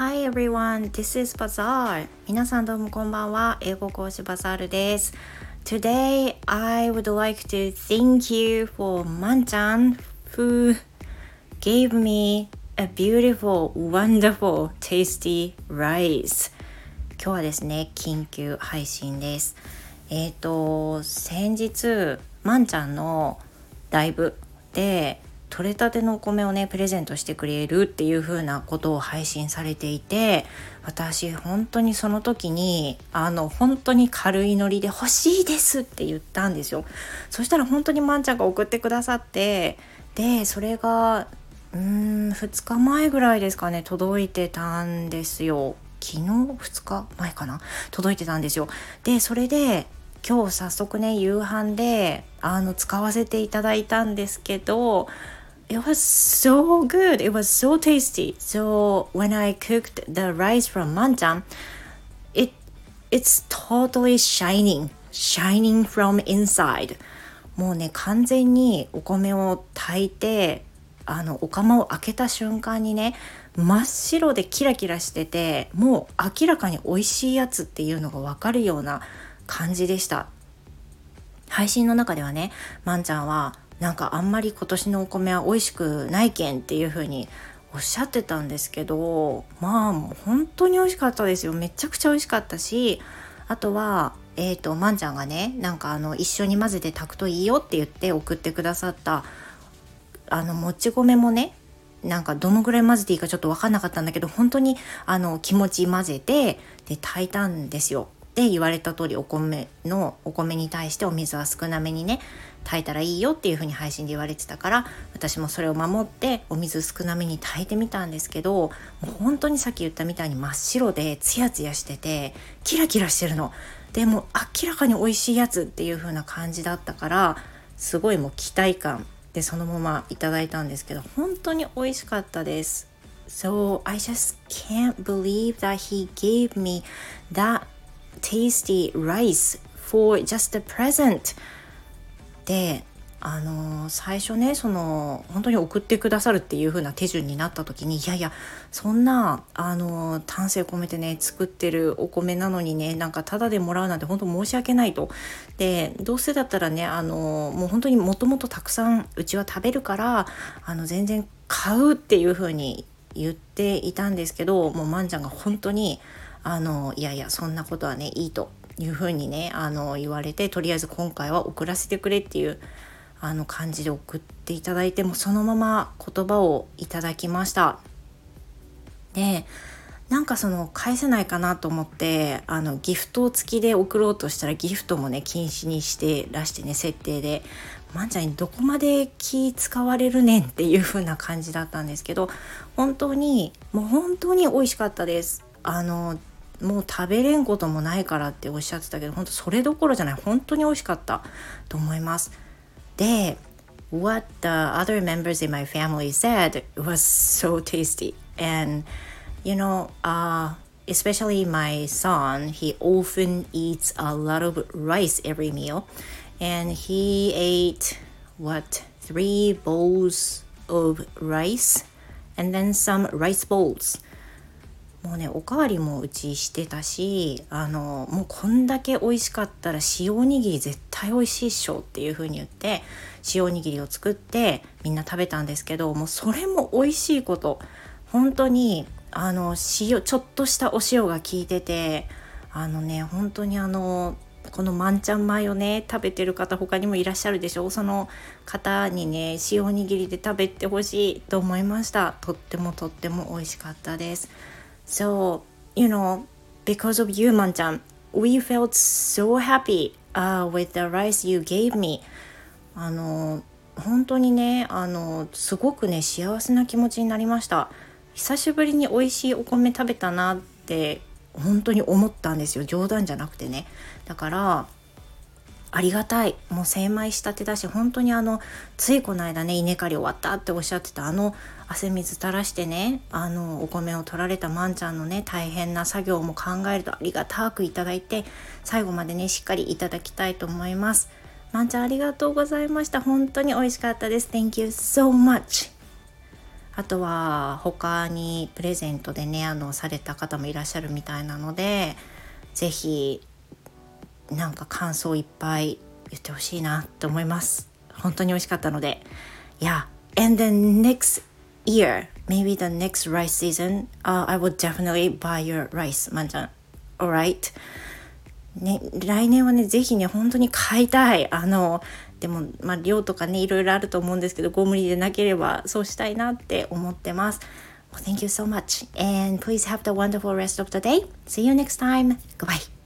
Hi everyone, this is Bazaar. 皆さんどうもこんばんは。英語講師バザールです。Today, I would like to thank you for まんちゃん who gave me a beautiful, wonderful, tasty rice. 今日はですね、緊急配信です。先日、まんちゃんのライブで取れたてのお米をねプレゼントしてくれるっていう風なことを配信されていて、私本当にその時に本当に軽いノリで欲しいですって言ったんですよ。そしたら本当にまんちゃんが送ってくださって、でそれが2日前ぐらいですかね、届いてたんですよ。昨日2日前かな、届いてたんですよ。でそれで今日早速ね夕飯で使わせていただいたんですけど、It was so good. It was so tasty. So when I cooked the rice from Manchan, it's totally shining from inside. もうね完全にお米を炊いてお釜を開けた瞬間にね真っ白でキラキラしてて、もう明らかに美味しいやつっていうのが分かるような感じでした。配信の中ではね、まんちゃんはなんかあんまり今年のお米は美味しくないけんっていう風におっしゃってたんですけど、まあ本当に美味しかったですよ。めちゃくちゃ美味しかったし、あとはまんちゃんがねなんか一緒に混ぜて炊くといいよって言って送ってくださったもち米もね、なんかどのぐらい混ぜていいかちょっと分かんなかったんだけど、本当に気持ち混ぜてで炊いたんですよ。で言われた通りお米に対してお水は少なめにね炊いたらいいよっていう風に配信で言われてたから、私もそれを守ってお水少なめに炊いてみたんですけど、もう本当にさっき言ったみたいに真っ白でツヤツヤしててキラキラしてるので、もう明らかに美味しいやつっていう風な感じだったから、すごいもう期待感でそのままいただいたんですけど、本当に美味しかったです。 So I just can't believe that he gave me that tasty rice for just a present で最初ね本当に送ってくださるっていう風な手順になった時に、いやいやそんな丹精込めてね作ってるお米なのにね、なんかタダでもらうなんて本当申し訳ないと。でどうせだったらねもう本当にもともとたくさんうちは食べるから全然買うっていう風に言っていたんですけど、もうまんちゃんが本当にいやいやそんなことはねいいというふうにね言われて、とりあえず今回は送らせてくれっていう感じで送っていただいて、もそのまま言葉をいただきました。でなんか返せないかなと思ってギフト付きで送ろうとしたら、ギフトもね禁止にしてらしてね、設定でまんちゃんにどこまで気使われるねんっていう風な感じだったんですけど、本当にもう本当に美味しかったです。もう食べれんこともないからっておっしゃってたけど、本当それどころじゃない、本当に美味しかったと思います。で What the other members in my family said was so tasty, and especially my son, he often eats a lot of rice every meal, and he ate 3 bowls of rice and then some rice balls。もうねおかわりもうちしてたし、もうこんだけ美味しかったら塩おにぎり絶対美味しいっしょっていう風に言って塩おにぎりを作ってみんな食べたんですけど、もうそれも美味しいこと、本当にちょっとしたお塩が効いてて、本当にこのまんちゃん米をね食べてる方他にもいらっしゃるでしょう。その方にね塩おにぎりで食べてほしいと思いました。とっても美味しかったです。So, because of you, まんちゃん we felt so happy, with the rice you gave me. 本当にねすごくね幸せな気持ちになりました。久しぶりに美味しいお米食べたなって本当に思ったんですよ。冗談じゃなくてね。だからありがたい。もう精米したてだし、本当についこの間ね稲刈り終わったっておっしゃってた汗水垂らしてねお米を取られたまんちゃんのね大変な作業も考えるとありがたくいただいて、最後までねしっかりいただきたいと思います。まんちゃんありがとうございました。本当に美味しかったです。 Thank you so much. あとは他にプレゼントでねされた方もいらっしゃるみたいなので、ぜひなんか感想いっぱい言ってほしいなって思います。本当に美味しかったので。Yeah, and then next year, maybe the next rice season, I would definitely buy your rice, まんちゃん。Alright? ね、来年はね、ぜひね、本当に買いたい。でも、量とかね、いろいろあると思うんですけど、ご無理でなければそうしたいなって思ってます。Well, thank you so much. And please have the wonderful rest of the day. See you next time. Goodbye.